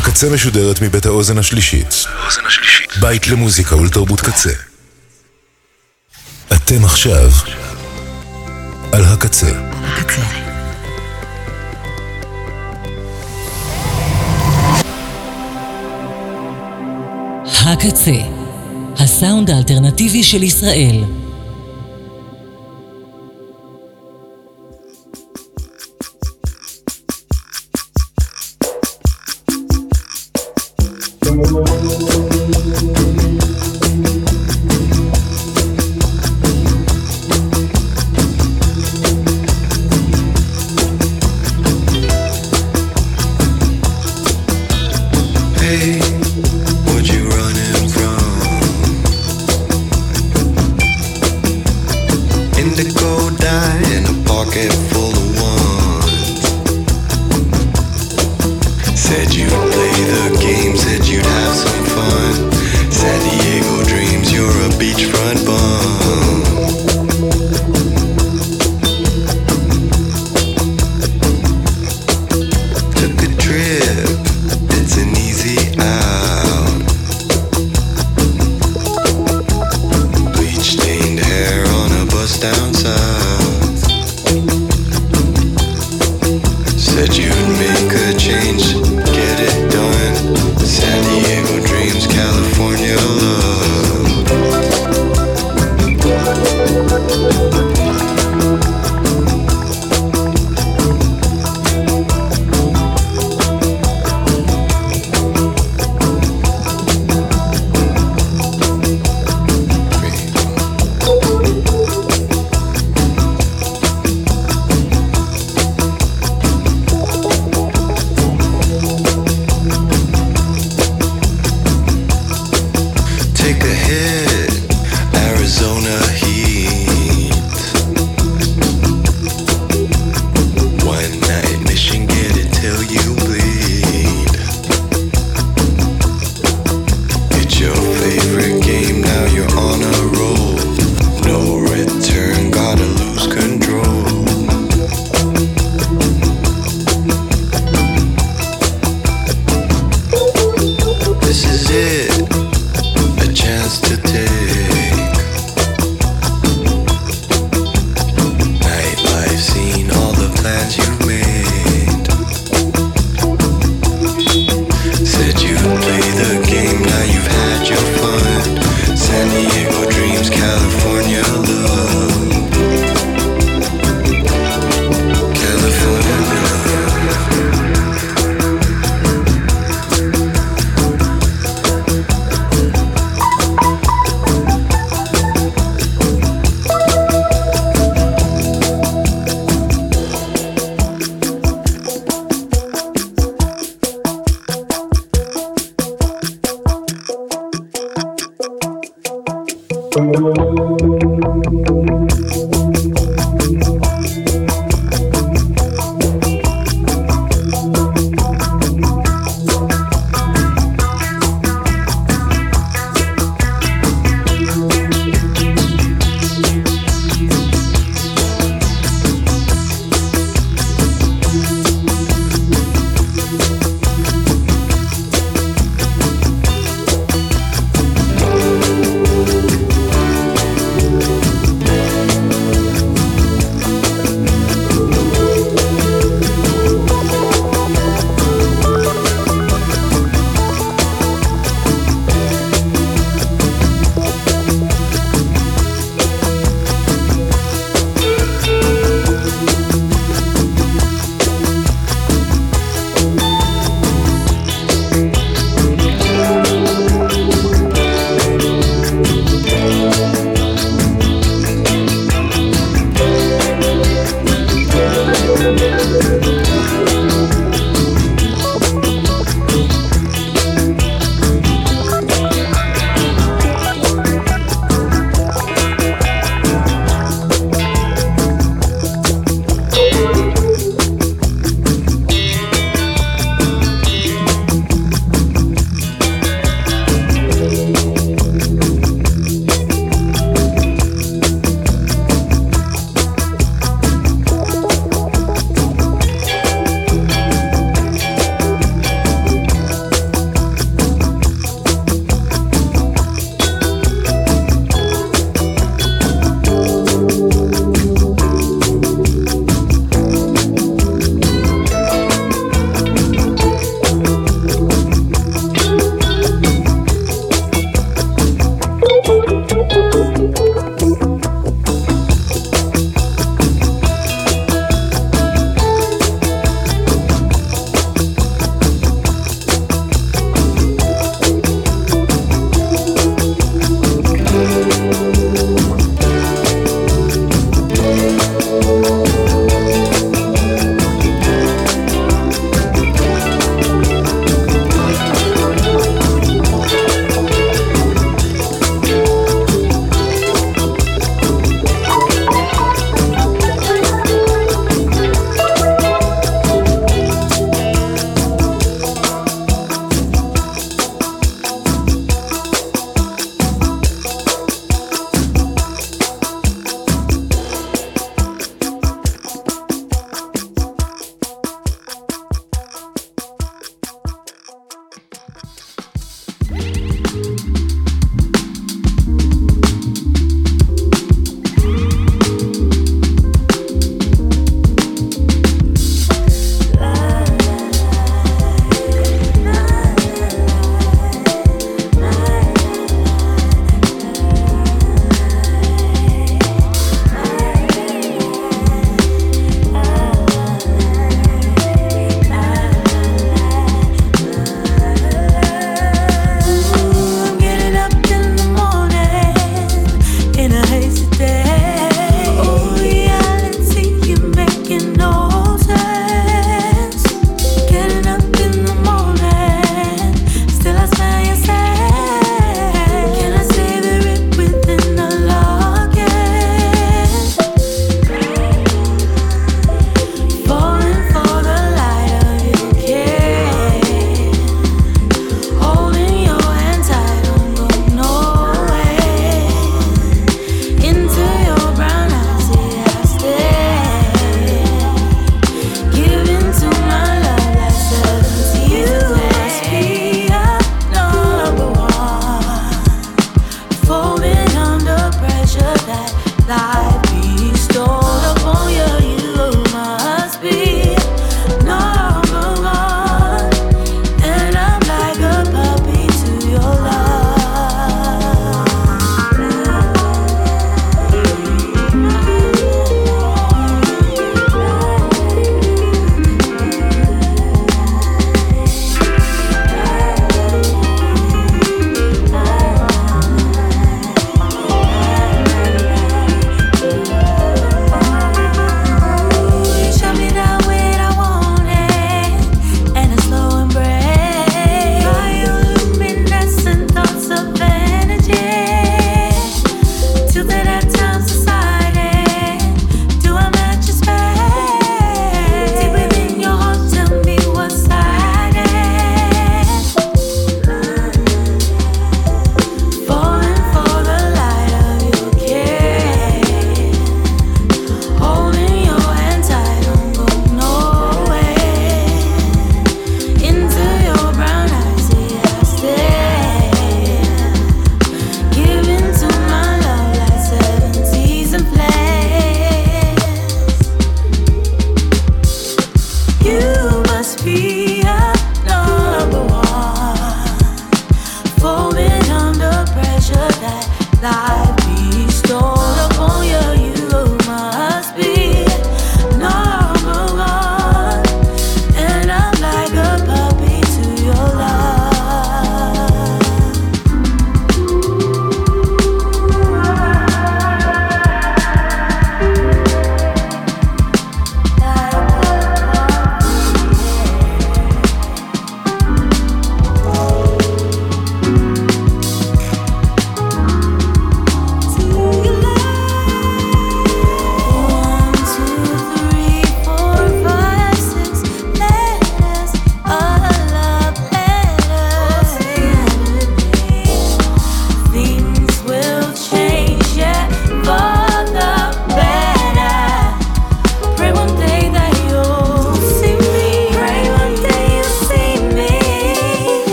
הקצה משודרת מבית האוזן השלישית. בית למוזיקה ולתרבות קצה. אתם עכשיו על הקצה. הקצה, הסאונד האלטרנטיבי של ישראל.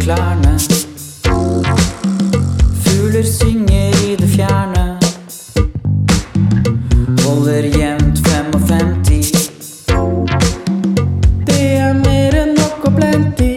klærne. Fugler synger i det fjerne. Holder jevnt 55. Det er mer enn nok og plenty.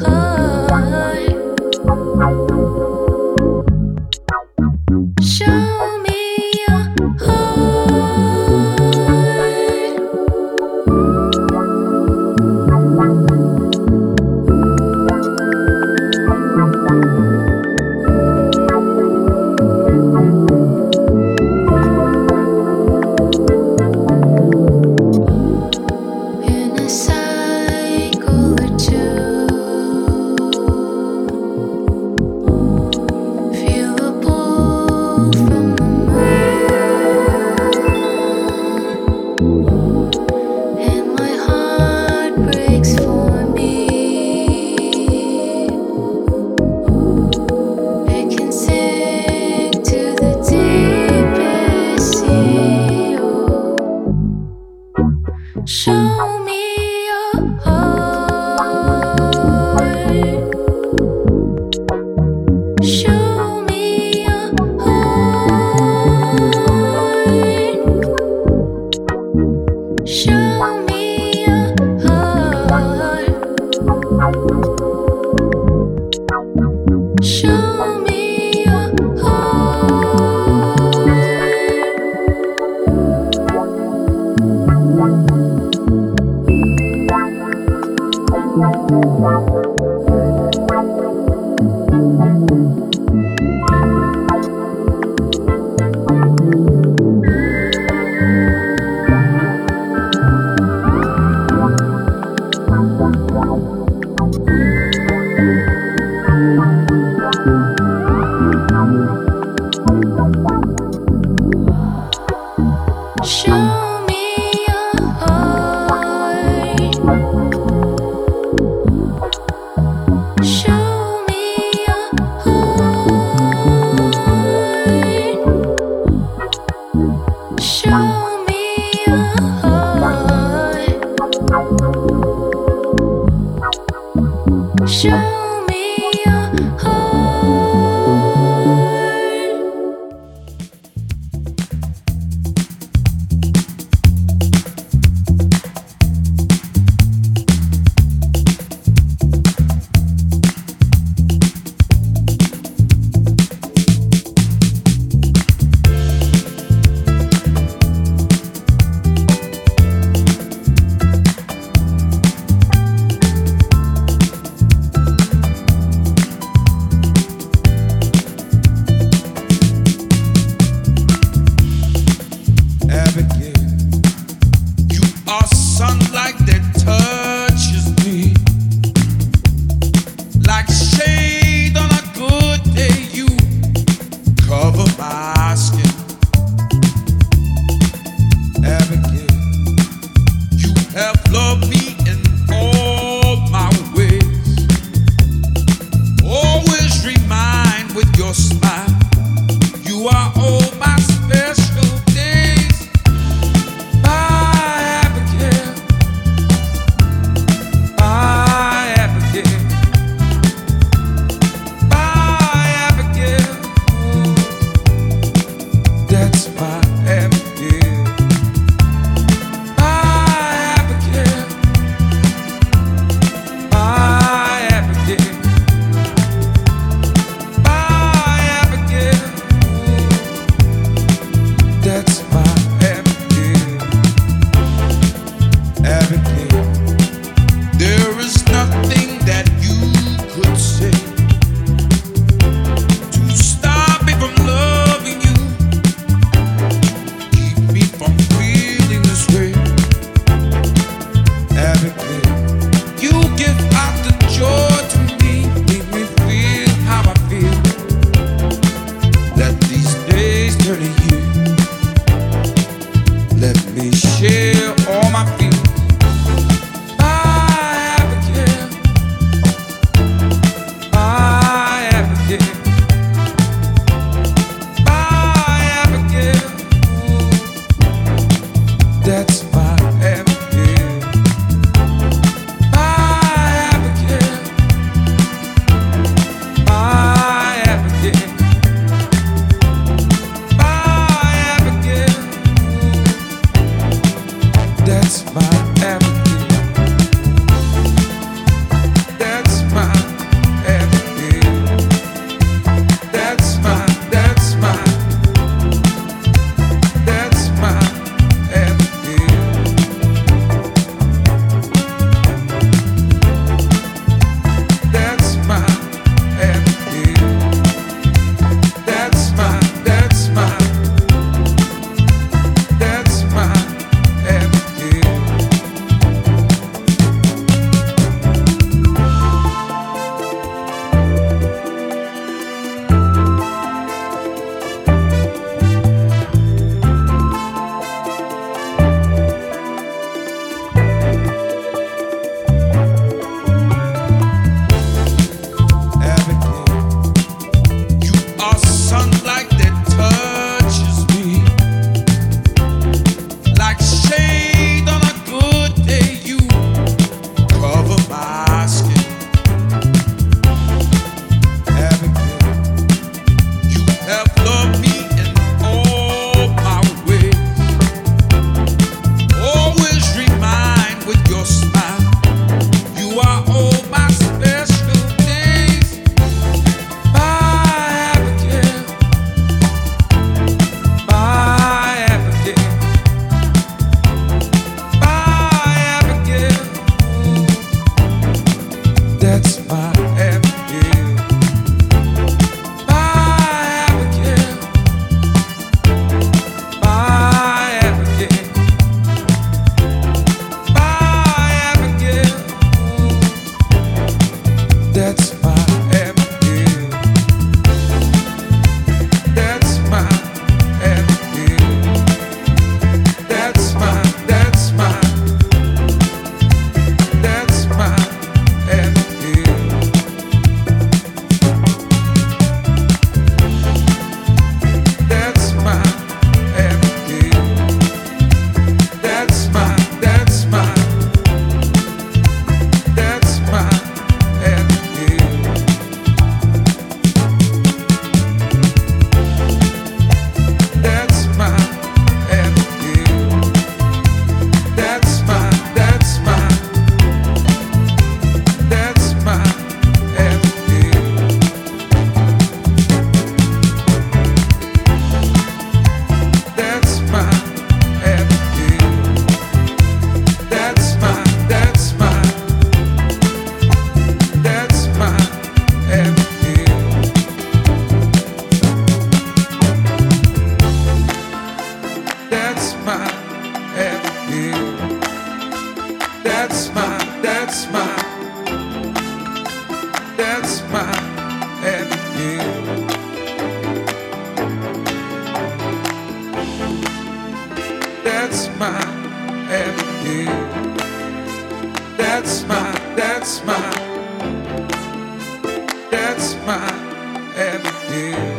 Show show me your heart. That's my avenue. That's my avenue.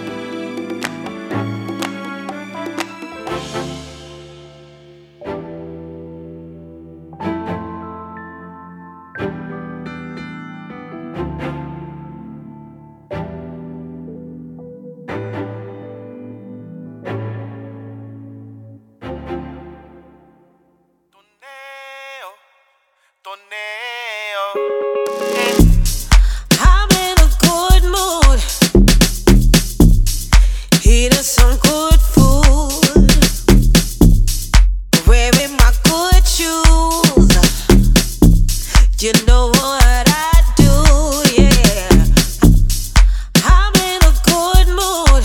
I'm in a good mood, eating some good food, wearing my good shoes. You know what I do, yeah. I'm in a good mood.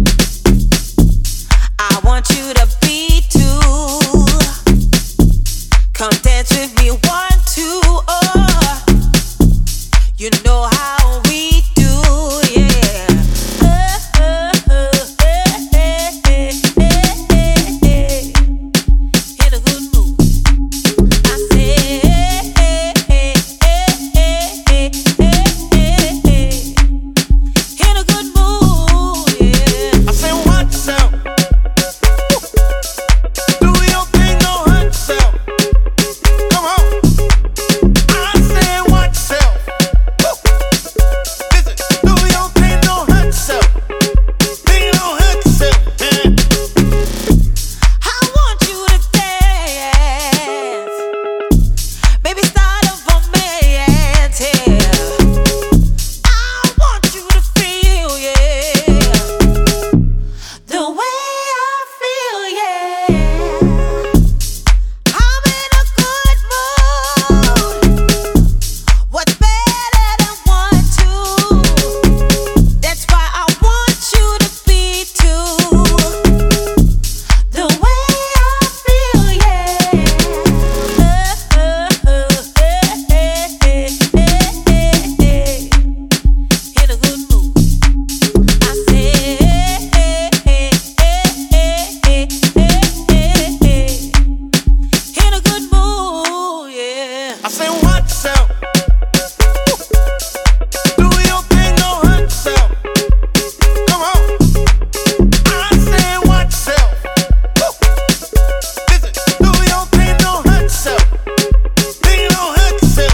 I want you to be too. Come dance with me, 1, 2, oh. You know how we do, yeah. In a good mood. I say, in a good mood, yeah. I say, watch out. Do your thing, no hurt yourself. Come on. I say, watch out. Listen, do your thing, no hurt yourself. Thing, no hurt yourself. I want you to dance. Baby, start a romance, yeah. I want you to feel, yeah, the way I feel, yeah. I'm in a good mood. What's better than 1, 2? That's why I want you to be too. The way I feel, yeah. In a good mood. I say, in a good mood, yeah. I say, watch out. Do your thing, no hurt yourself. Come on. I say, watch out. Listen, do your thing, no hurt yourself. Thing, no hurt yourself.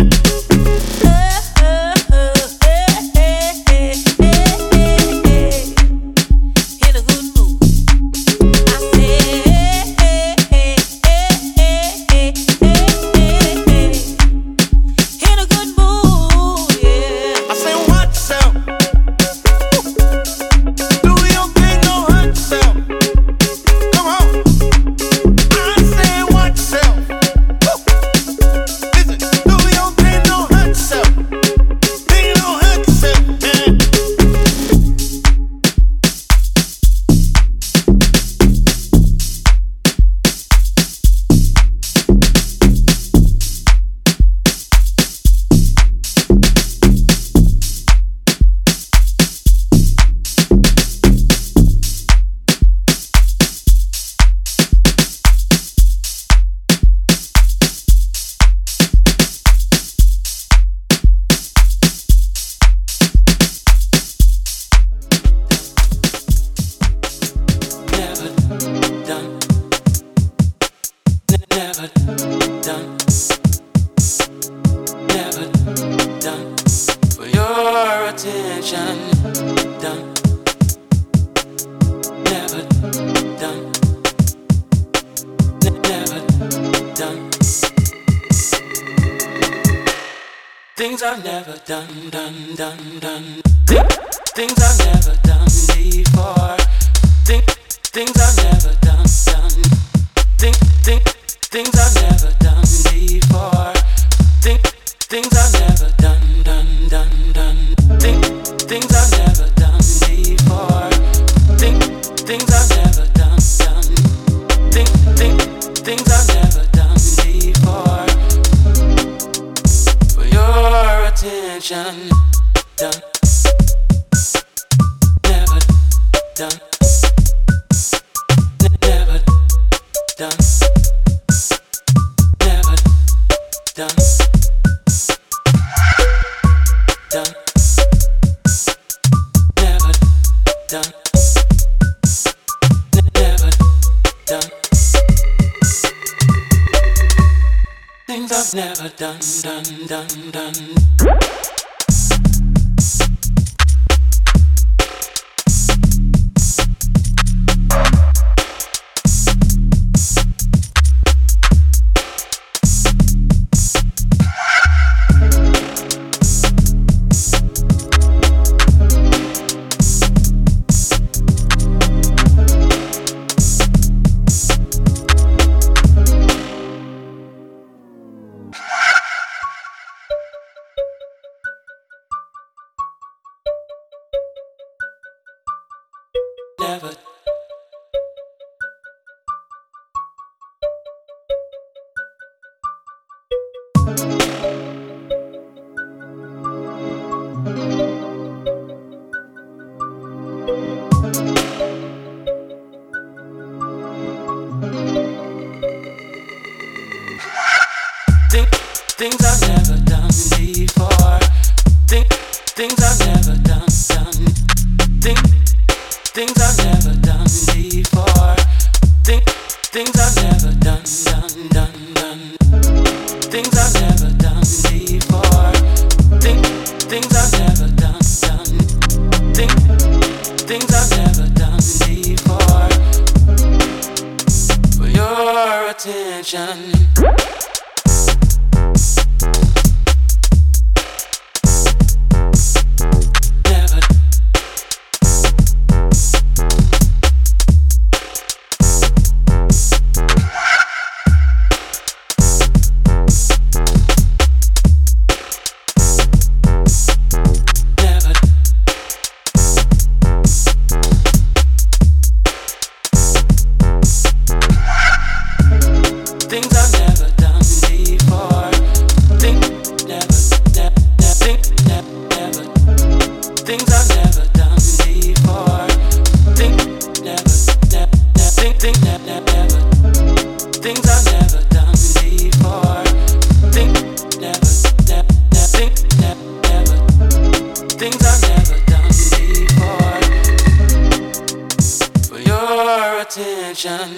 In a good mood. I say, in a good mood, yeah. I say, watch out. Do your thing, no hurt yourself. Come on. I say, watch out. Listen, do your thing, no hurt yourself. Thing, no hurt yourself. Never done for your attention. Done. Never done. Never done. Things I've never done. Things I've never done before. Things I've never done. Things I've never done before. Things I've never done. Things I've never done before. Things I've never done. Things I've never done before. For your attention, done. Never done. Never Never done. Never. Things I've never done before. Things I've never done. Things I've never done before. Things I've never done. Things I've never done before. Things I've never done. Things I've never done before. For your attention. Things I've never done before. Things I've never done before. Things I've never done before. Things I've never done before. For your attention.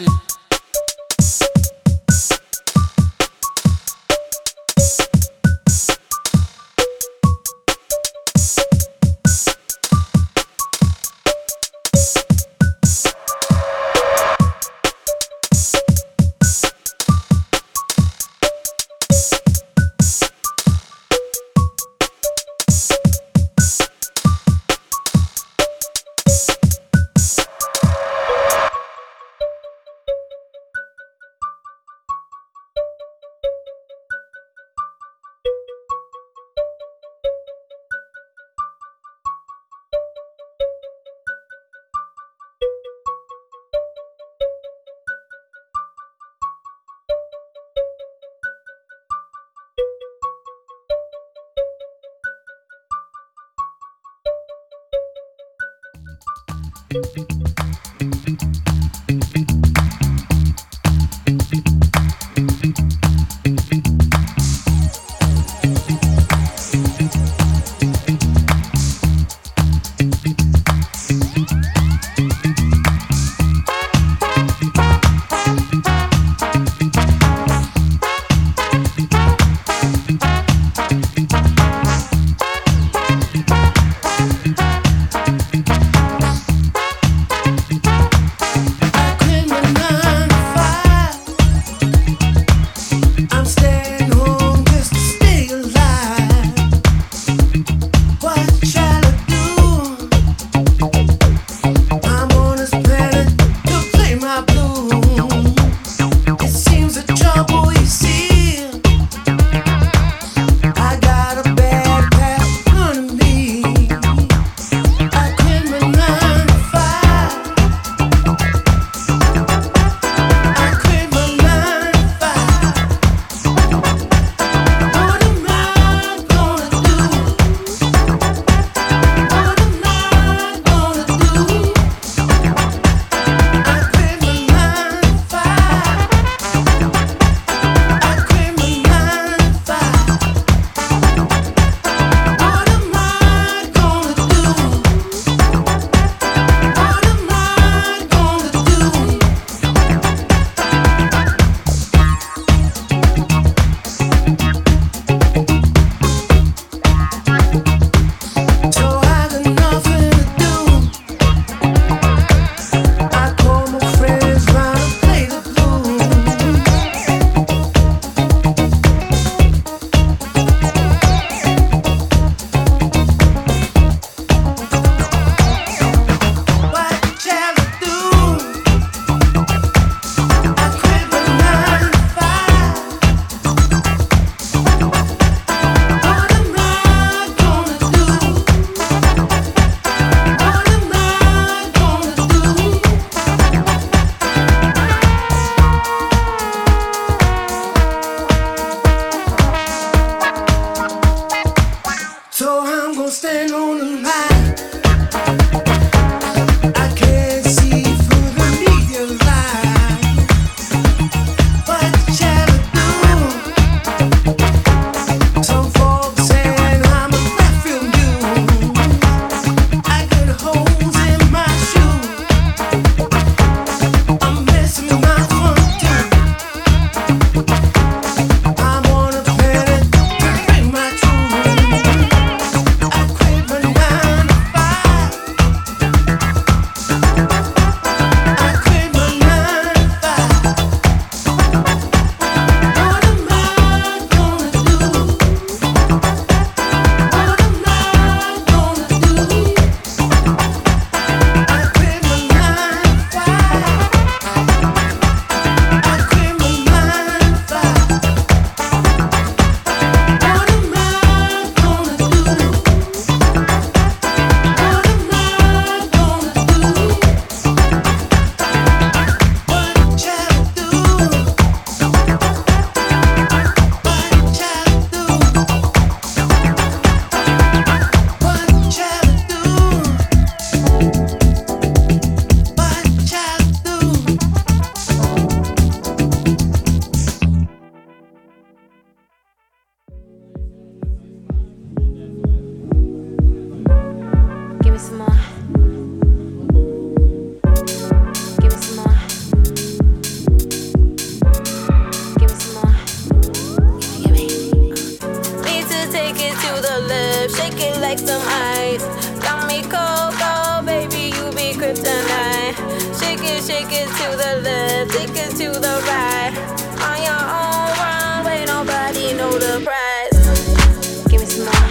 kryptonite. Shake it to the left, take it to the right. On your own runway, nobody know the price. Give me some more.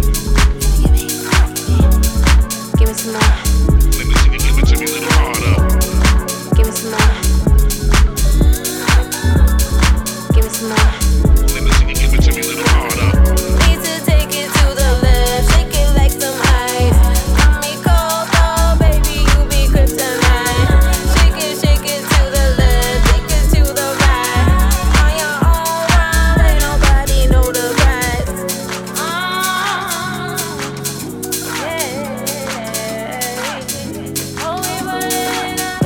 Give me some more. Let me see you give it to me a little harder. Give me some more. Give me some more. Let me see you give it to me a little harder. Need to take it to the left, shake it like some ice. Got me cold though, baby, you be kryptonite. Shake it to the left, take it to the right. On your own runway, nobody know the price. Yeah. Oh, we running up.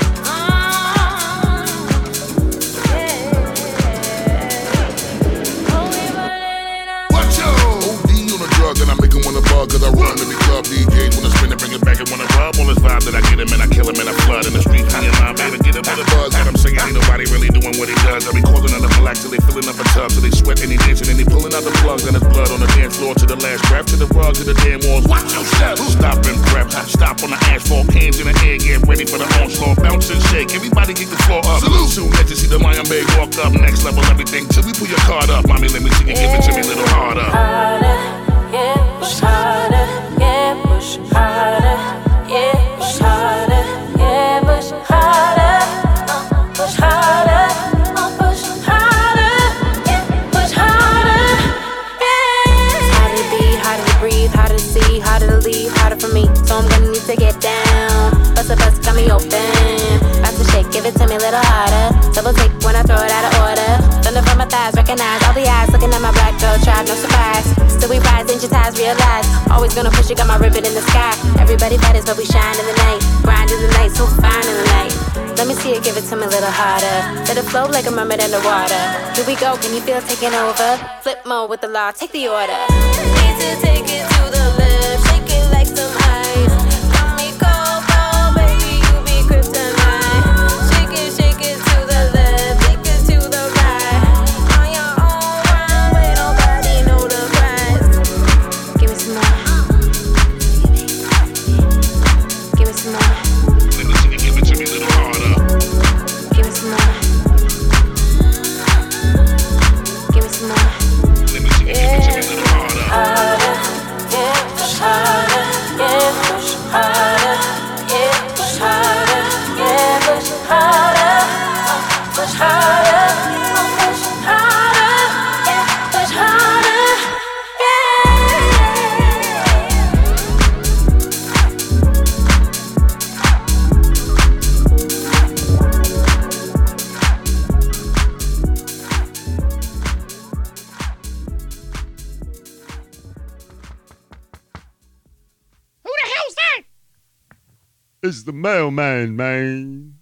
Watch out! OD on a drug and I make him wanna bug. Cause I run every club, DJs wanna spin and bring it back and wanna rub. All this vibe that I get him and I kill him and I flood in the street. Honey and my baby, get him with a buzz. Got him singing, ain't nobody really doing what he does. I be calling on the black till they filling up a tub. So they sweat and they dancing and they pulling out the plugs. And there's blood on the dance floor to the last breath. To the rug, to the damn walls. Watch your step. Stop and prep. Stop on the asphalt. Hands in the air, get ready for the onslaught. Bounce and shake. Everybody get the floor up. Salute. Soon let you see the Lion Bay walk up. Next level, everything till we pull your card up. Mommy, let me see you give it to me a little harder. Harder, yeah, push harder, yeah, push harder, yeah, push harder, yeah, push harder, push harder, push harder, yeah, push harder, yeah. Harder to be, harder to breathe, harder to see, harder to leave, harder for me. So I'm gonna need to get down. Bust got me open. About to shake, give it to me a little harder. Double take when I throw it out of order. Thunder from my thighs, recognize all the eyes looking at my black girl tribe, no surprise. Still we rise, digitize, realize. Always gonna push it, got my ribbon in the sky. Everybody matters, but we shine in the night. Grind in the night, so fine in the night. Let me see it, give it to me a little harder. Let it flow like a mermaid underwater. Here we go, can you feel it taking over? Flip mode with the law, take the order. Need to take it to the left, shake it like some ice. Got me cold, though, baby, you be kryptonite. Shake it to the left, take it to the right. On your own runway, nobody know the price. Give me some more. Give me some more. Let me see you give it to me a little harder. Give me some more. Give me some more. Let me see you give it to me a little harder. Harder, yeah, push harder, yeah, push harder, yeah, push harder, yeah, push harder, push harder, push harder, yeah, push harder, It's the mailman, man.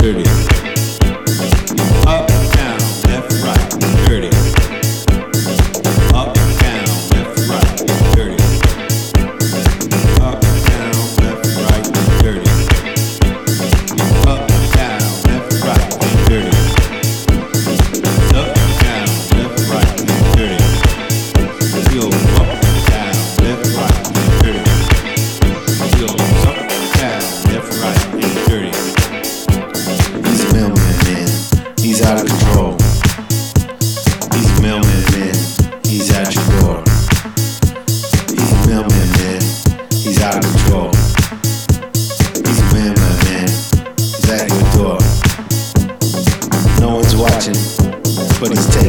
dirty. Up, down, left, right, dirty. Up, down, left, right, dirty. Up, down, left, right, dirty. Up, down, left, right, dirty. Up, down, left, right, dirty. Yo, up, down, left, right, dirty. Yo, up, down, left, right, dirty. He's a mailman, man. He's out of control. He's a mailman, man. He's at your door. He's a mailman, man. He's out of control. He's a mailman, man. He's at your door. No one's watching, but he's taking